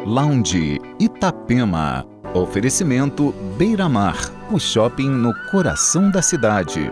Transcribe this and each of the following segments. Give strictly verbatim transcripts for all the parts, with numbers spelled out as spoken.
Lounge Itapema. Oferecimento Beira Mar, o shopping no coração da cidade.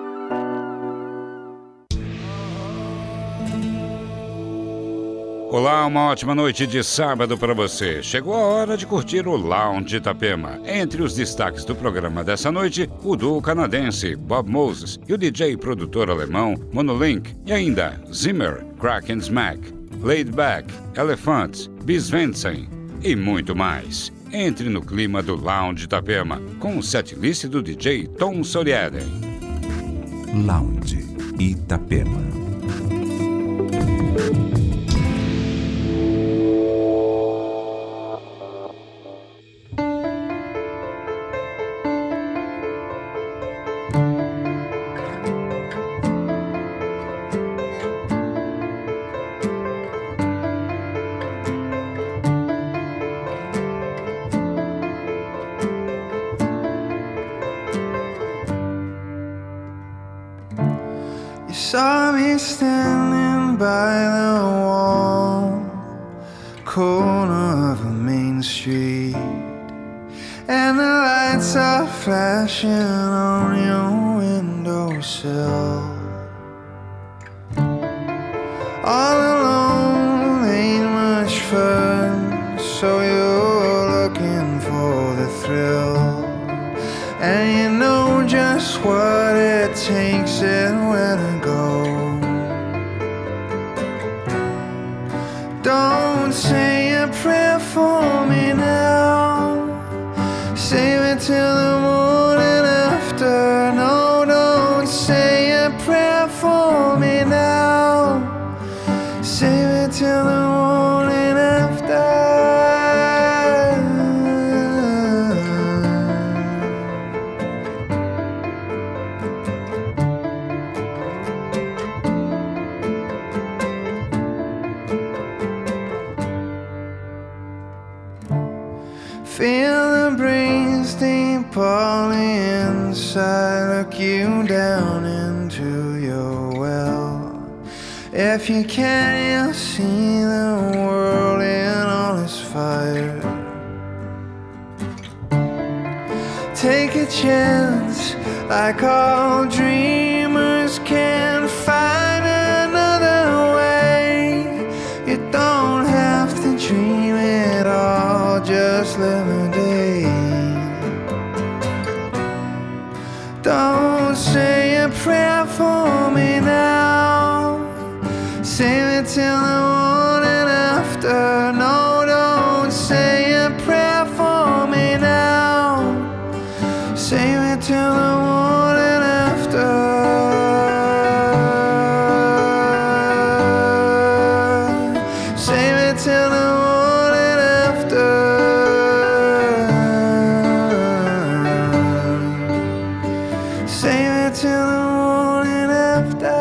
Olá, uma ótima noite de sábado para você. Chegou a hora de curtir o Lounge Itapema. Entre os destaques do programa dessa noite, o duo canadense Bob Moses e o D J e produtor alemão Monolink. E ainda Zimmer, Crack and Smack, Laid Back, Elephants, Bis Vensen e muito mais. Entre no clima do Lounge Itapema com o setlist do D J Tom Soriaden. Lounge Itapema. Saw me standing by the wall, corner of a main street, and the lights are flashing on your windowsill. All alone ain't much fun, so you're looking for the thrill, and you know just what it takes and where to go. Don't say a prayer for me now, save it till the morning after. No, don't say a prayer for me now, save it till the morning after. Feel the breeze deep all inside, look you down into your well. If you can, you'll see the world in all its fire. Take a chance, like all dreamers can find another way. You don't have to dream it all, just live a day. Don't say a prayer for me now, save it till the morning after. No, don't say a prayer for me now, save it till the morning after. Save it till the morning after. Save it till the morning after.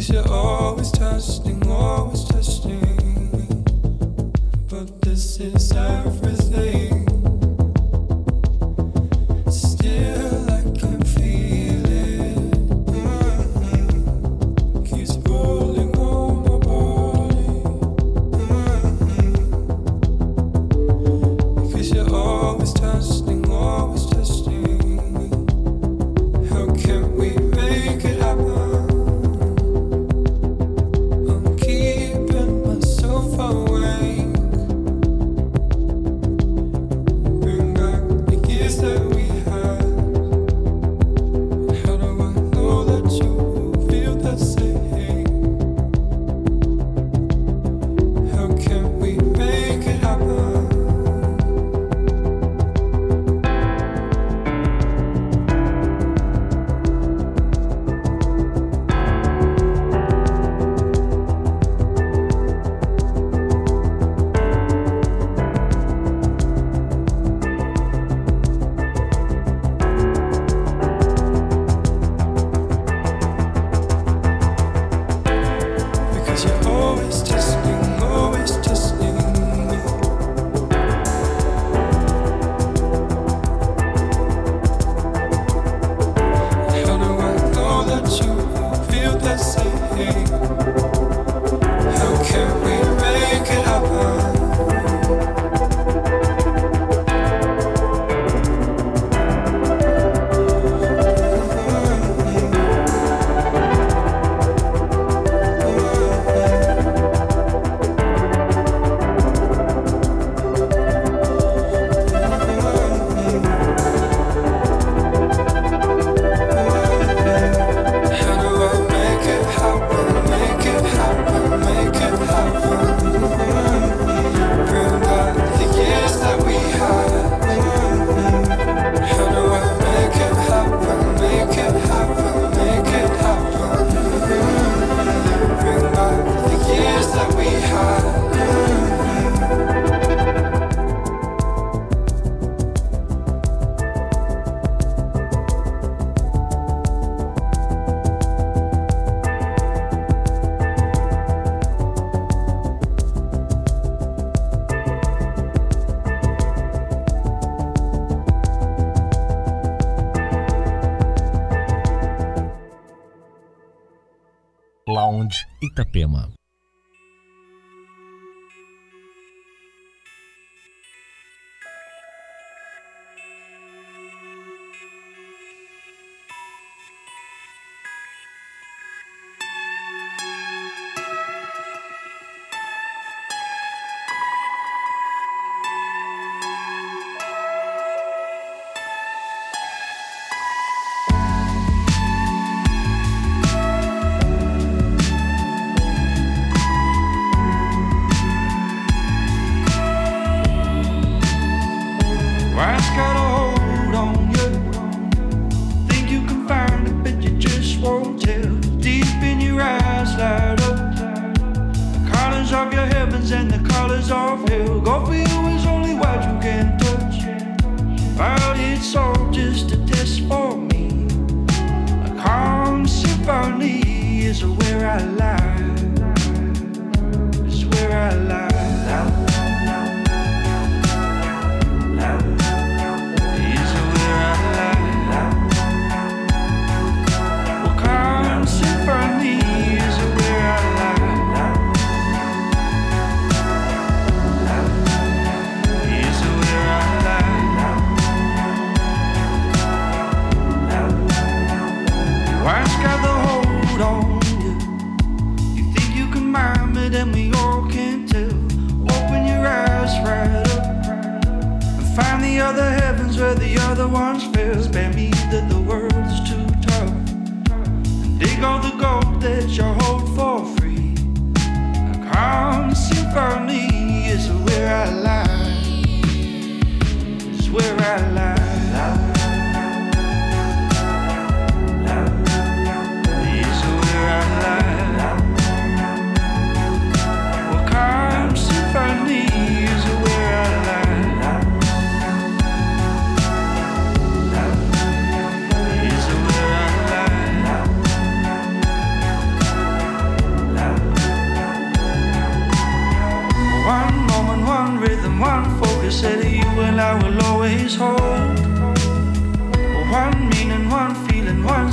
'Cause you're always testing, always testing. But this is everything. Still I can feel it. Mm-hmm. Keeps rolling on my body. Mm-hmm. Because you're always testing, always testing. How can we make it happen? Lounge Itapema.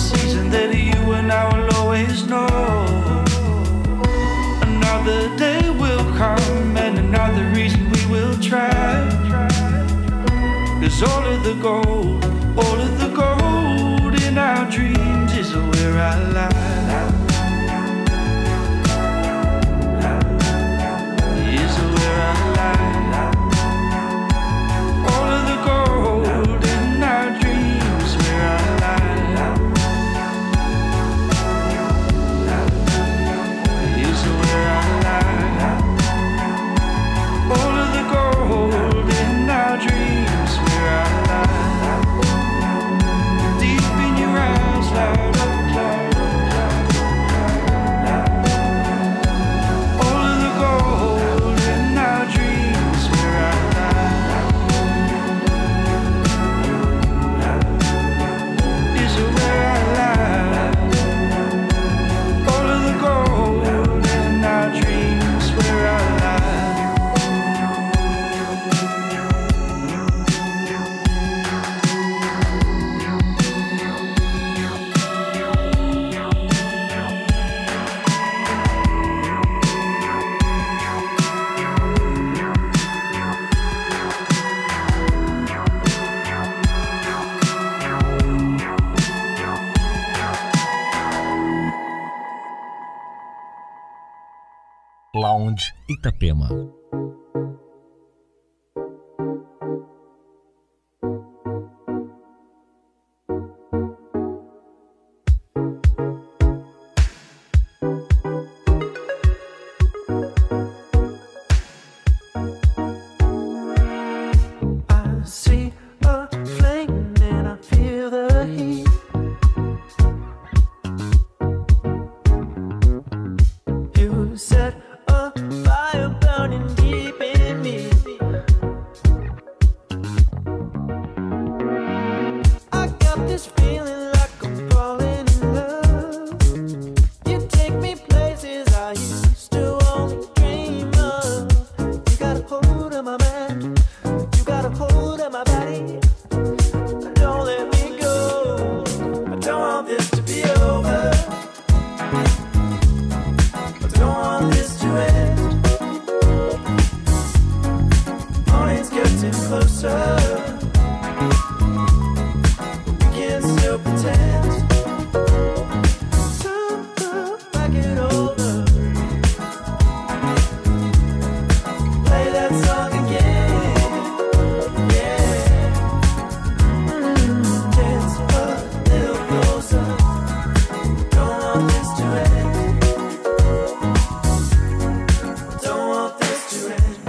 season that you and I will always know. Another day will come and another reason we will try. Cause all of the gold, all of the gold in our dreams is where I lie. Is where I lie. All of the gold in our dreams where I lie. Is where I lie. All of the gold in our dreams where I lie. Deep in your eyes, light up, light up, light up. All of the gold in our dreams where I lie. Is where I lie. All of the gold in our dreams where I lie. Lounge Itapema. I see a flame and I feel the heat. You set a fire burning deep in me. I got this feeling like I'm falling in love. You take me places I used to only dream of. You got a hold of my mind. You got a hold of my body. Don't let me go. I don't want this to be over. I don't want this to end. Morning's getting closer. We can still pretend. So back it over. Play that song again. Yeah. Mm, dance a little closer. Don't want this to end. Don't want this to end.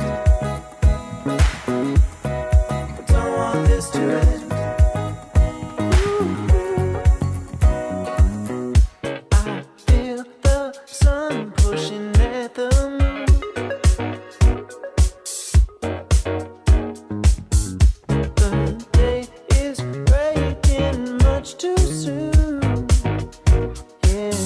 Don't want this to end. I feel the sun pushing at the moon. The day is breaking much too soon. Yeah.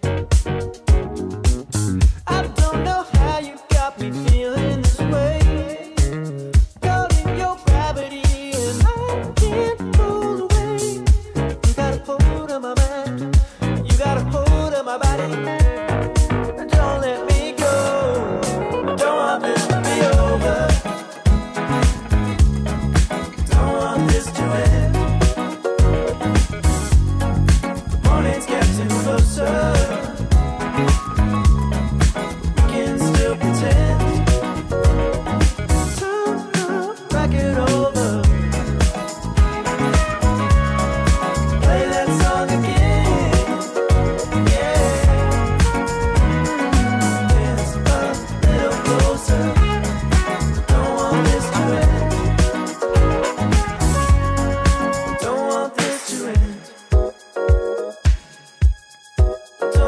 I don't know how you got me feeling this way. Caught in your gravity and I can't pull away. You got a hold of my mind. You got a hold of my body. Don't let me go. I don't want this to be over. Don't want this to end. The morning's getting closer. We can still pretend. Turn back it over. Play that song again. Yeah. Dance a little closer. Don't want this to end. Don't want this to end.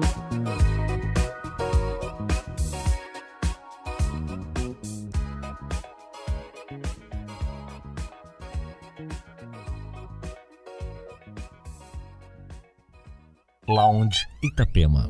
Lounge Itapema.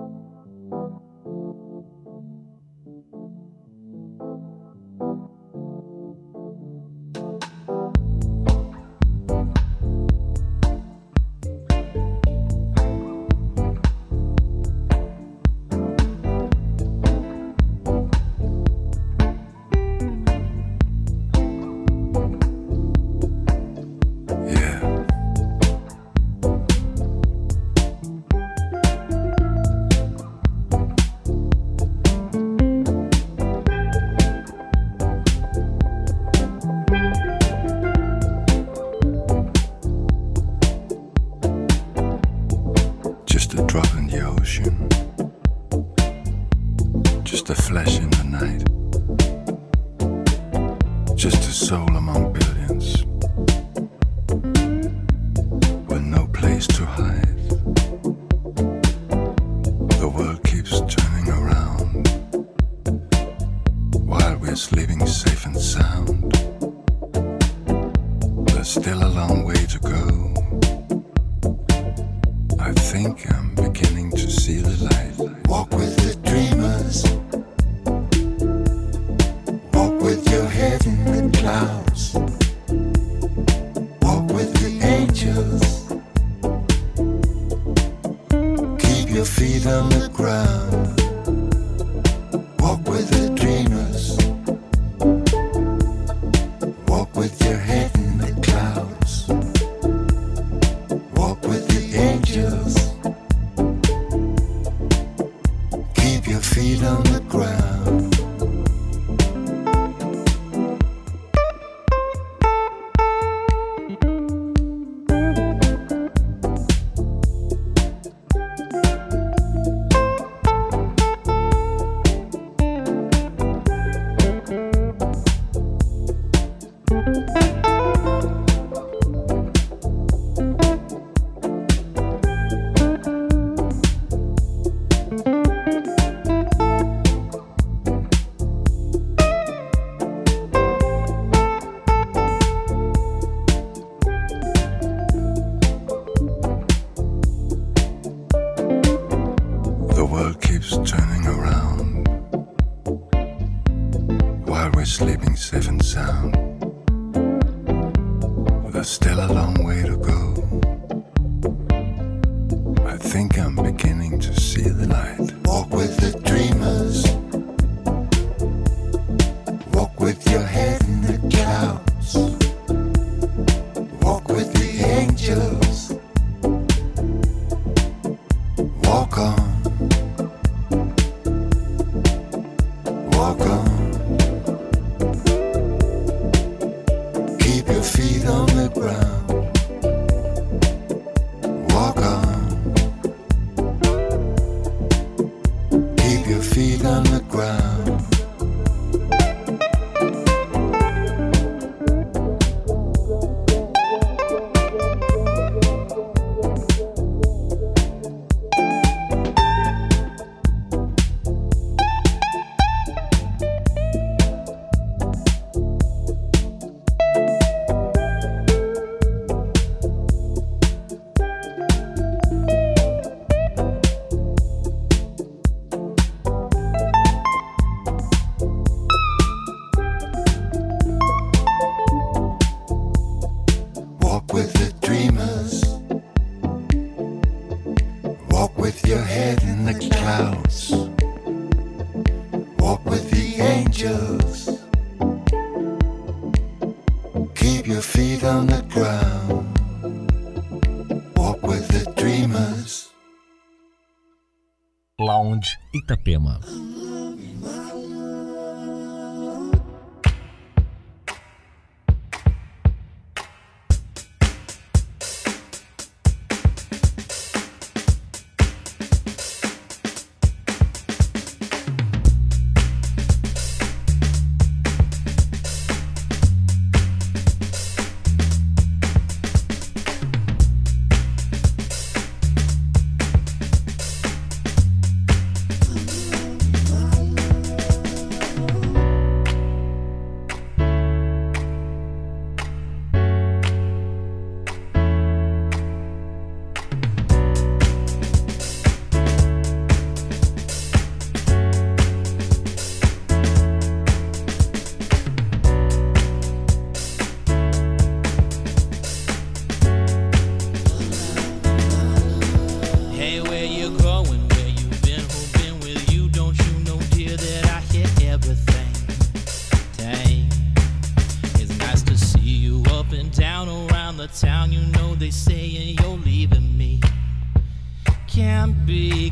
Lounge Itapema.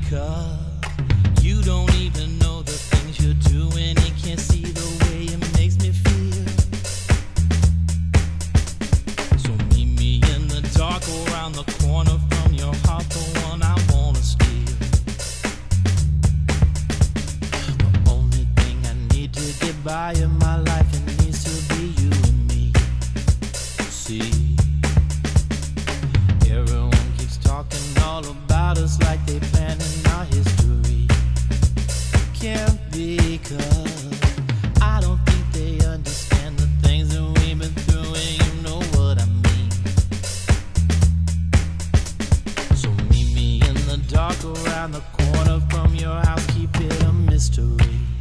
because you don't even know the things you're doing and can't see the way it makes me feel. So meet me in the dark around the corner from your heart, the one I wanna steal. The only thing I need to get by in my life, it needs to be you and me. See, everyone keeps talking all about us like they planning our history. Can't be, cause I don't think they understand the things that we've been through, and you know what I mean. So meet me in the dark around the corner from your house, keep it a mystery.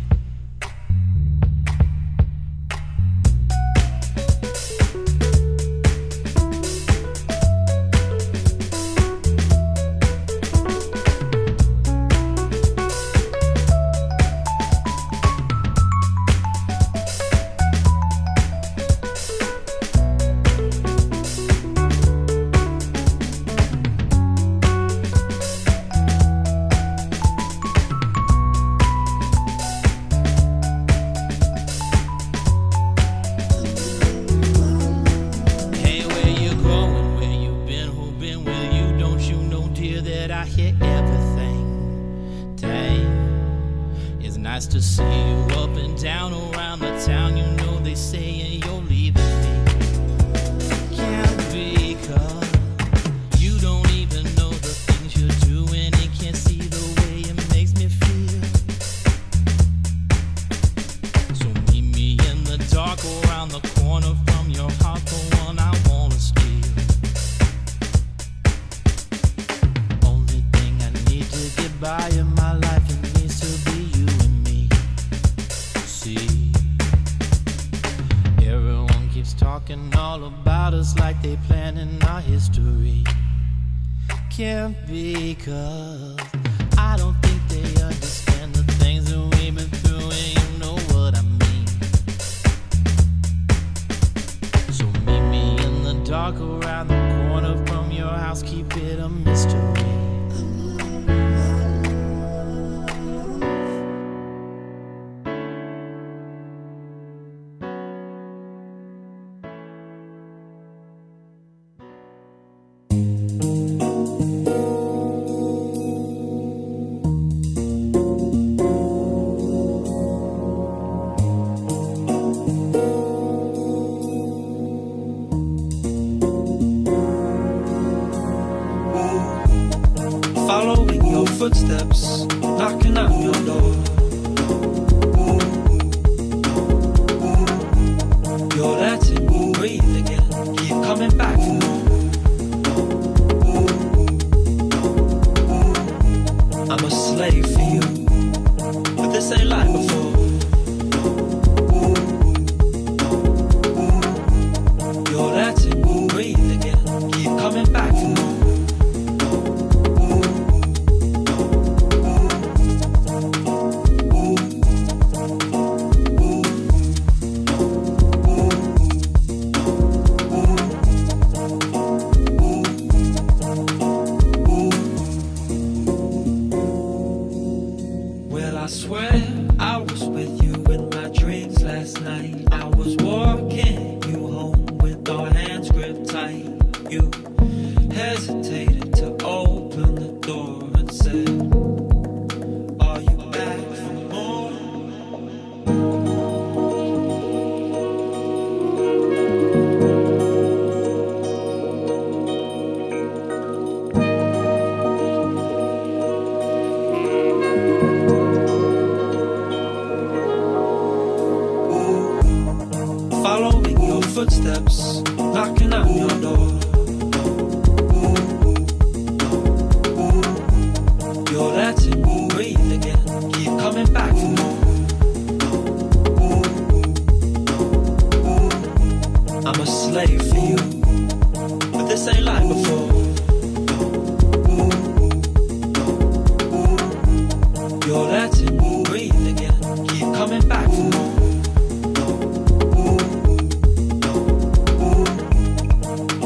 Nice to see you up and down around the town. You know they say you're leaving me. Can't be, cause you don't even know the things you're doing and can't see the way it makes me feel. So meet me in the dark around the corner from your heart, the one I wanna steal. Only thing I need to get by in my life, it needs to be you and me. See, everyone keeps talking all about us like they planning our history. Can't be, cause I don't think they understand the things that we've been through, and you know what I mean. So meet me in the dark around the corner from your house, keep it a mystery. Following your footsteps, knocking on your door. You're letting me breathe again, keep coming back for more. I'm a slave for you, but this ain't like before. You're letting me breathe again, keep coming back for more. I swear I was with you in my dreams last night. I was walking you home with our hands gripped tight. You hesitated to open the door and said, are you back for more? Following your footsteps, knocking on your door. You're letting me breathe again, keep coming back for more. I'm a slave for you, but this ain't like before. You're letting me breathe again, keep coming back for more.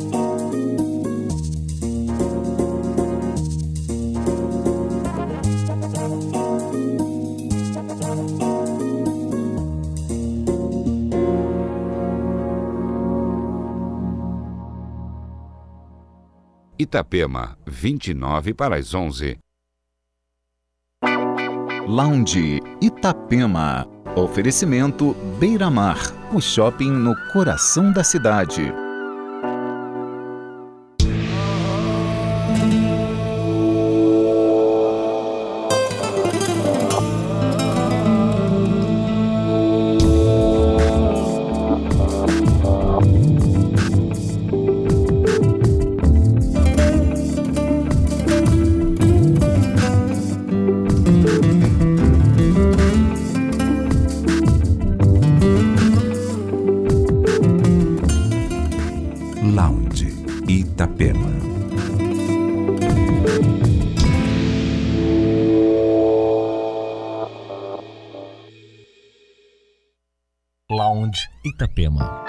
Itapema, vinte e nove para as onze. Lounge Itapema. Oferecimento Beira-Mar, o shopping no coração da cidade. Lounge Itapema. Lounge Itapema.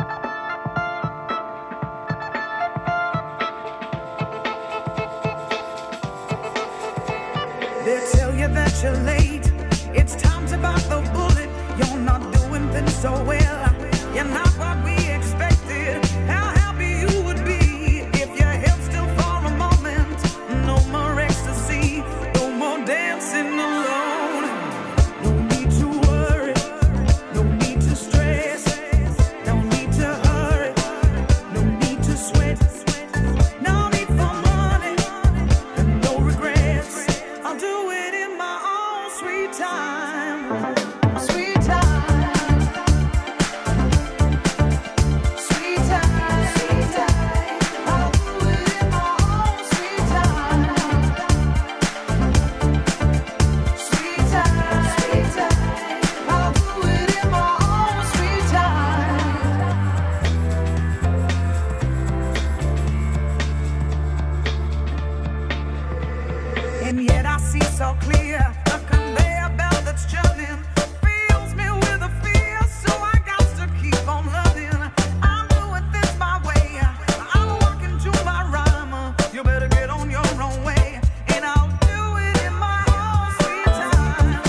They tell you that you're late. It's time to bite the bullet. You're not doing things so well. You're not what we expected. How happy you would be if you held still for a moment. No more ecstasy, no more dancing alone. No need to worry, no need to stress. No need to hurry, no need to sweat. No need for money and no regrets. I'll do it in my own sweet time. Sweet time. Sweet time. Sweet time. I'll do it in my own sweet time. Sweet time. Sweet time. I'll do it in my own sweet time. And yet I see so clear a conveyor belt that's churning fills me with a fear, so I got to keep on loving. I'm doing this my way. I'm walking to my rhyme. You better get on your own way, and I'll do it in my own sweet time.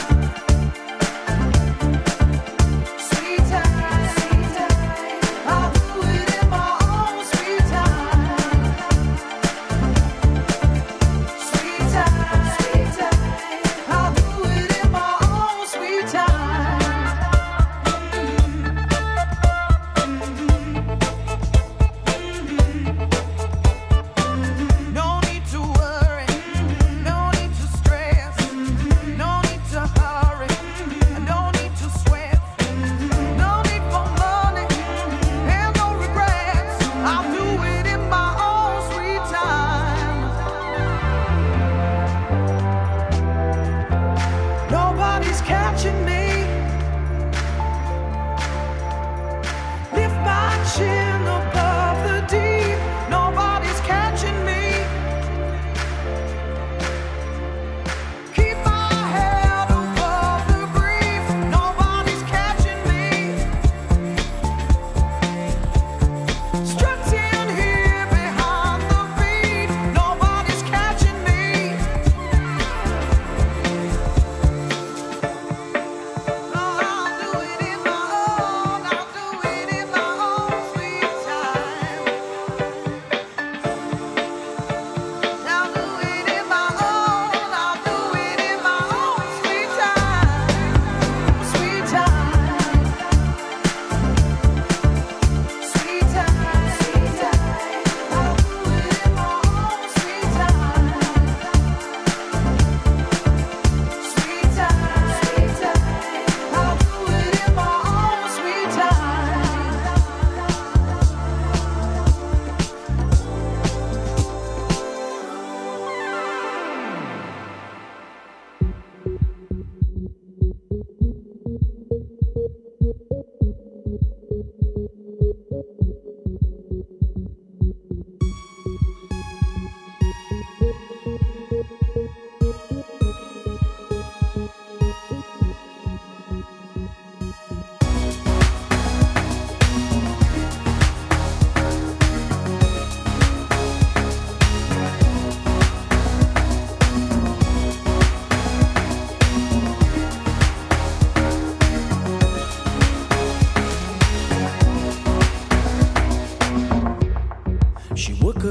Sweet time, sweet time. I'll do it in my own sweet time. Sweet time, sweet time. I'll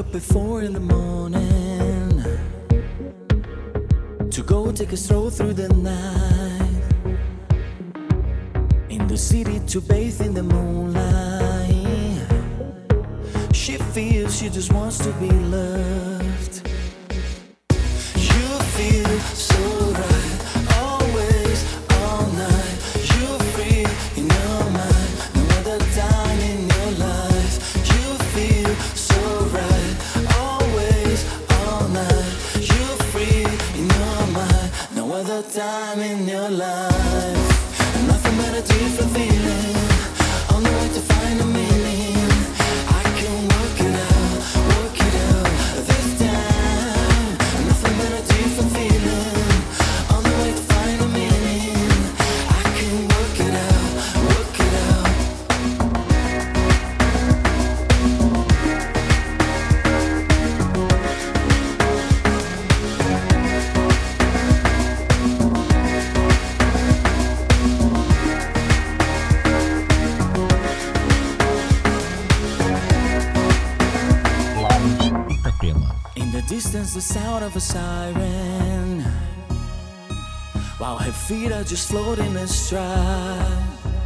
up at four in the morning to go take a stroll through the night, in the city to bathe in the moonlight. She feels she just wants to be loved. You feel so right, always, all night. You're free in your mind, no other time in your life. You feel so right, always, all night. You're free in your mind, no other time in your life. Nothing but a different feeling, on the way to find a meaning. I can work it out, work it out this time. Nothing but a different feeling, on the way to find a meaning. I can work it out, work it out. In the distance, the sound of a siren, while her feet are just floating astride.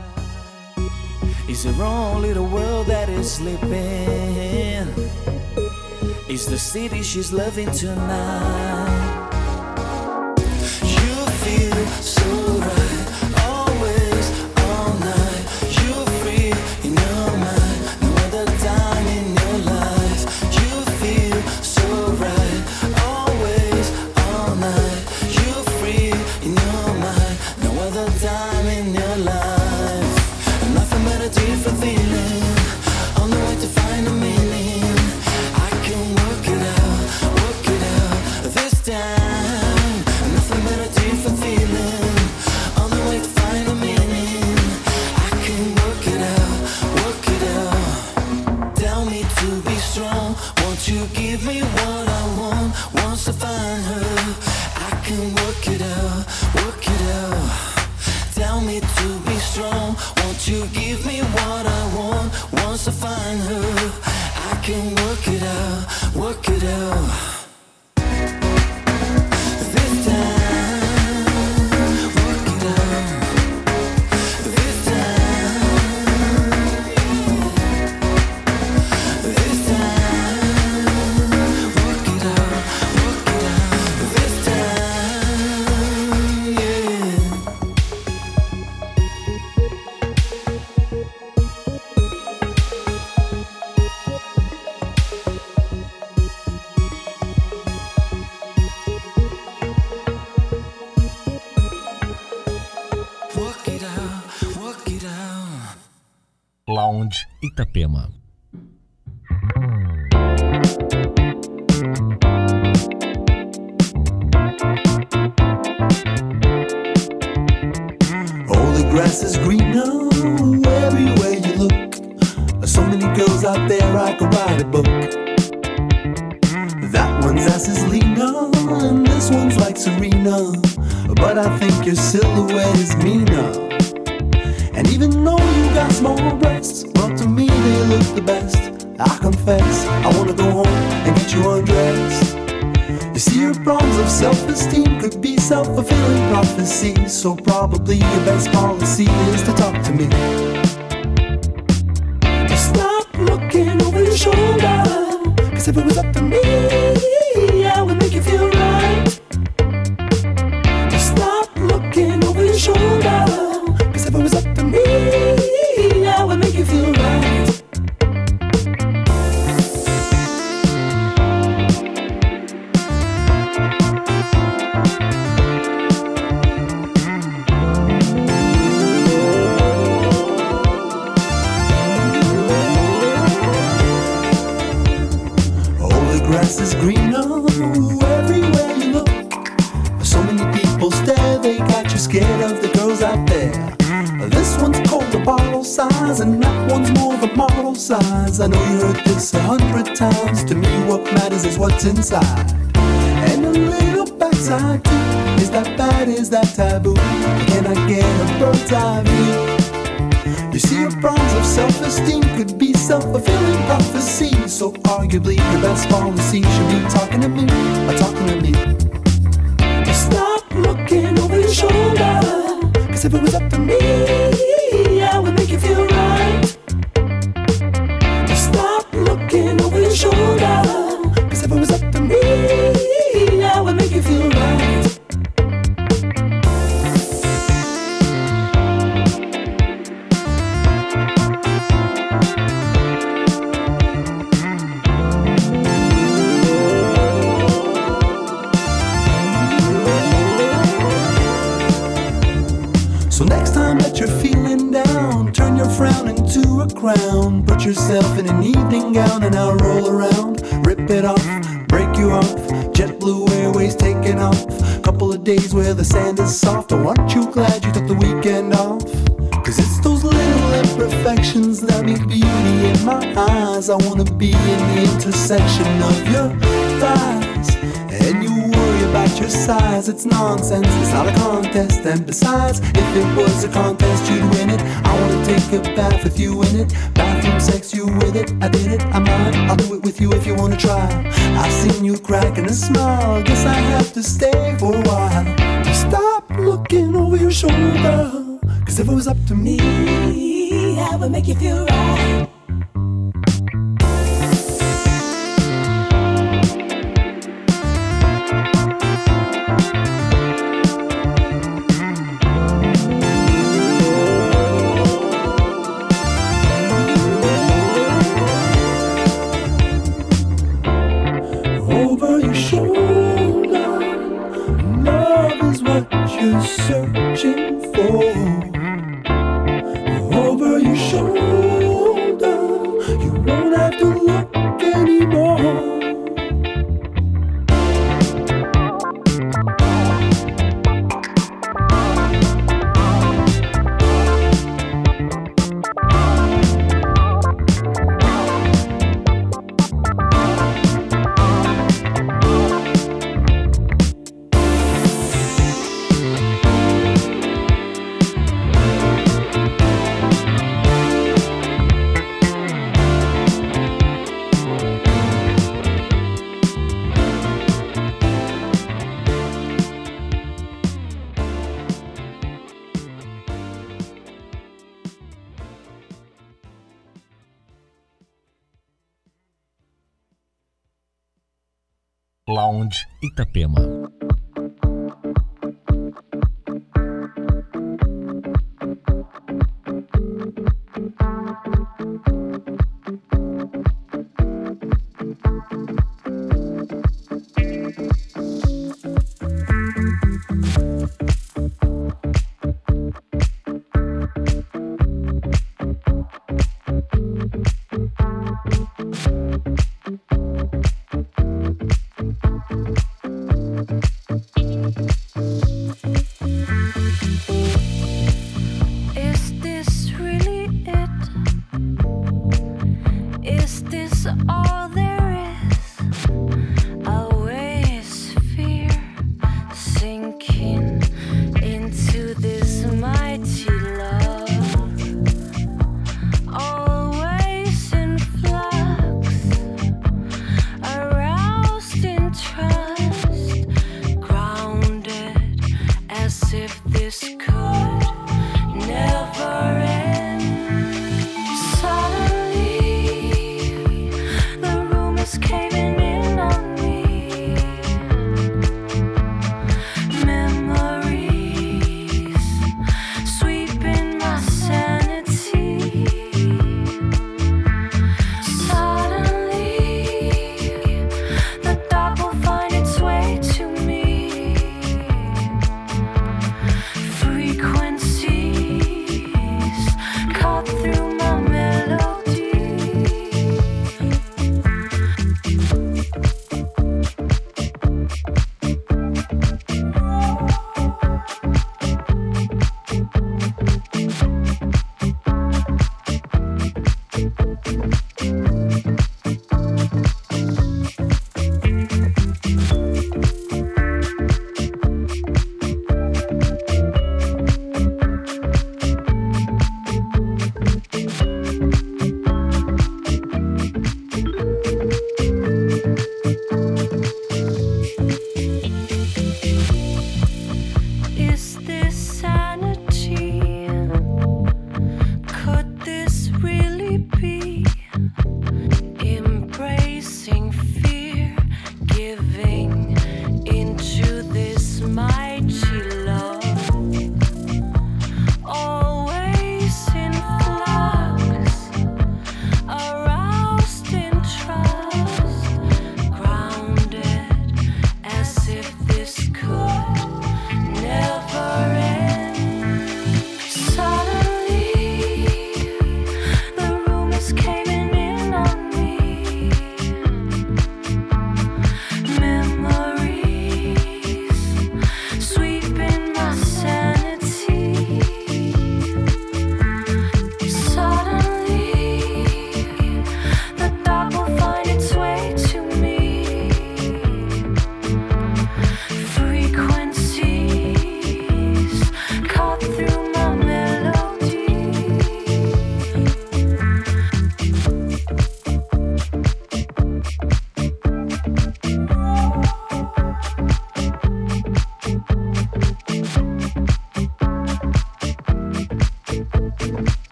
Is her own little world that is sleeping? Is the city she's loving tonight? You feel so right, always, all night. You're free in your mind, no other time in your life. You feel so right, always, all night. You're free in your mind, no other time in your life. Nothing but a different feeling, on the way to find a meaning. I can work it out, work it out this time. Nothing but a different feeling, on the way to find a meaning. I can work it out, work it out. Tell me to be strong, won't you give me what I want? Once I find her, I can work it out, work it out. Tell me to be strong, won't you give me what I want? Once I find her, I can work it out, work it out. This time, work it out. This time, this time, work it out, work it out. This time, yeah. Work it out, work it out. Lounge Itapema. Oh, the grass is greener everywhere you look. So many girls out there, I could write a book. That one's ass is leaner, and this one's like Serena. But I think your silhouette is meaner. And even though you got small breasts, well, to me they look the best. I confess, I wanna go home and get you undressed. You see, your problems of self-esteem could be self-fulfilling prophecies. So probably your best policy is to talk to me. Just stop looking over your shoulder, cause if it was up to me, I would make you feel right. Just stop looking over your shoulder, cause if it was up to me, I would make you feel right. Grass is greener everywhere you look. So many people stare, they got you scared of the girls out there. This one's called the bottle size, and that one's more the model size. I know you heard this a hundred times. To me what matters is what's inside. And a little backside too. Is that bad, is that taboo? Can I get a bird's eye view? You see, your problems of self-esteem could be self-fulfilling prophecy. So arguably your best policy should be talking to me, or talking to me. Just stop looking over your shoulder, cause if it was up to me, I would make you feel right. Just stop looking over your shoulder, cause if it was up to me, I would make you feel right. So next time that you're feeling down, turn your frown into a crown. Put yourself in an evening gown and I'll roll around. Rip it off, break you off. JetBlue Airways taking off. Couple of days where the sand is soft. Oh, aren't you glad you took the weekend off? Cause it's those little imperfections that make beauty in my eyes. I wanna be in the intersection of your thighs. And you worry about your size, it's nonsense, it's not a contest. And besides, if it was a contest, you'd win it. I wanna take a bath with you in it. Bathroom sex, you with it, I did it, I might. I'll do it with you if you wanna try. I've seen you cracking a smile, guess I have to stay for a while. Stop looking over your shoulder, cause if it was up to me, I would make you feel right. Over your shoulder, love is what you're searching for. Over your shoulder, you won't have to look anymore. Lounge Itapema.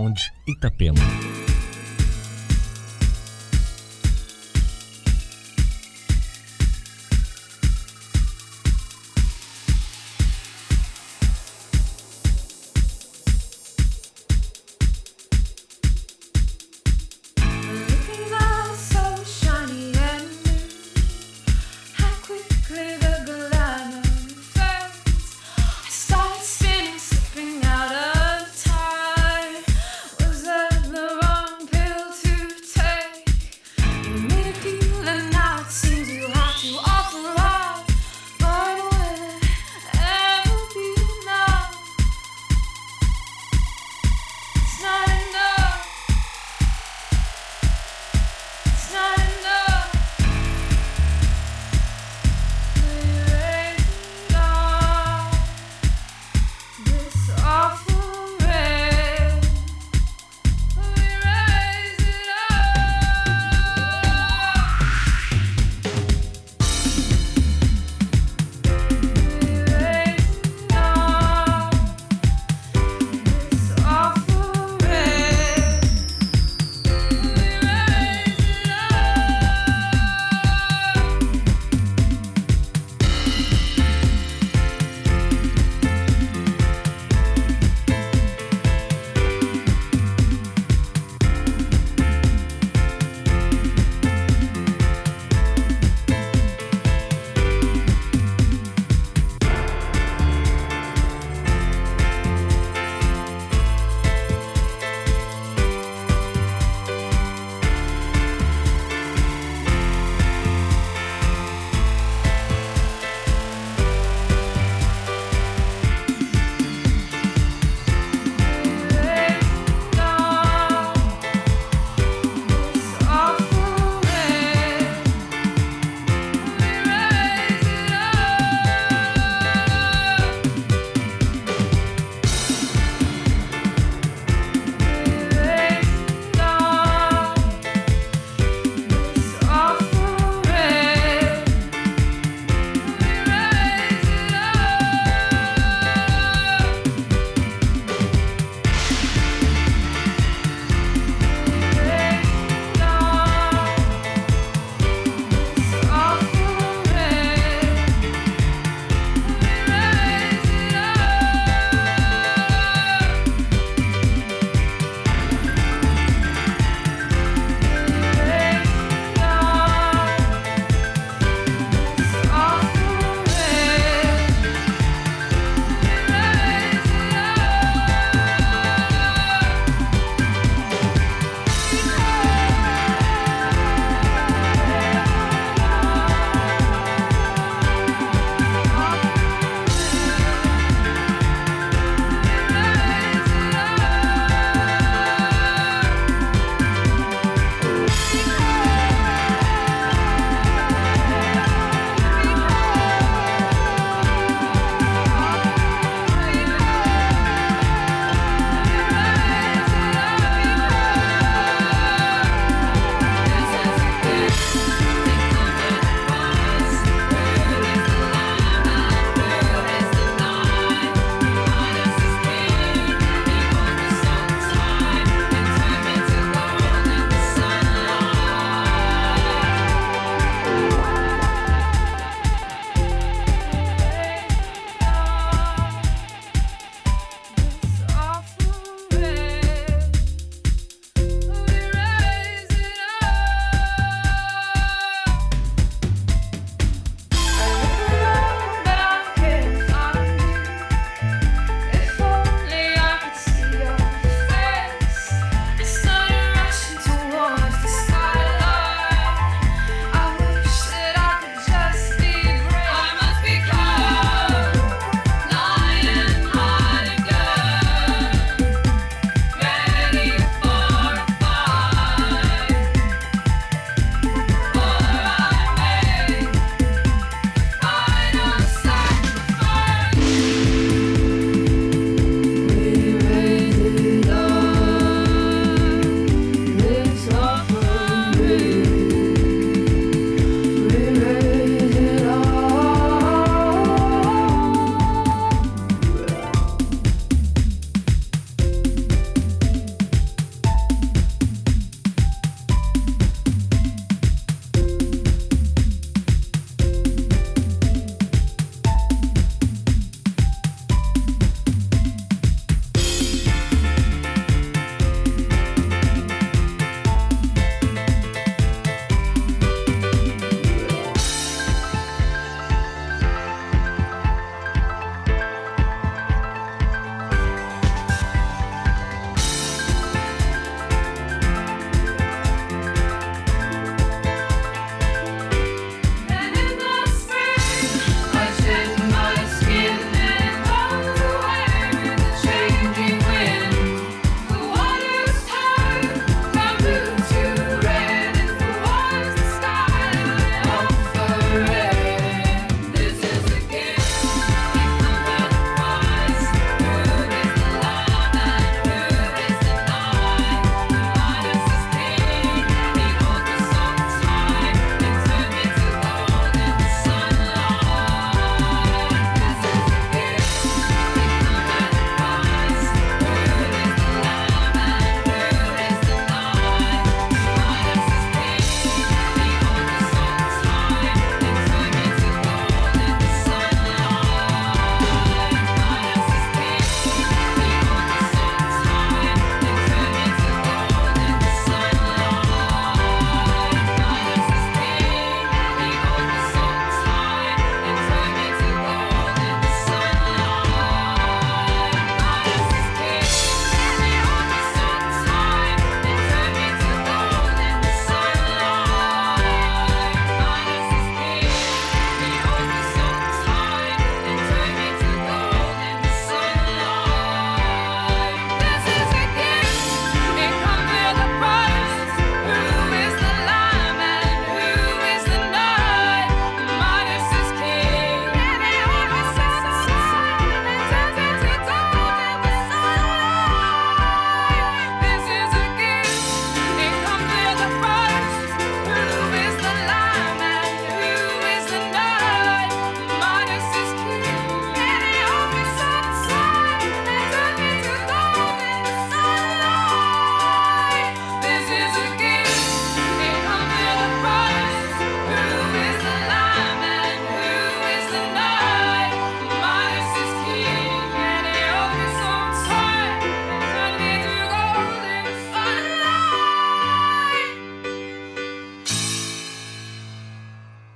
Lounge Itapema. The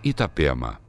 Itapema.